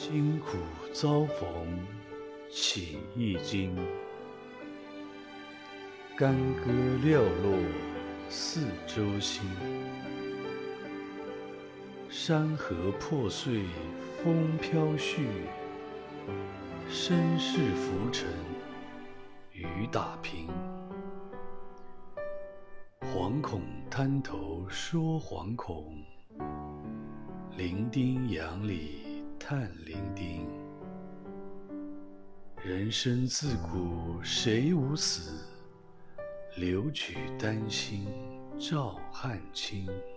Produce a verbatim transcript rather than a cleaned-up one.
辛苦遭逢起一经，干戈寥落四周星。山河破碎风飘絮，身世浮沉雨打萍。惶恐滩头说惶恐，零丁洋里叹零丁。人生自古谁无死，留取丹心照汗青。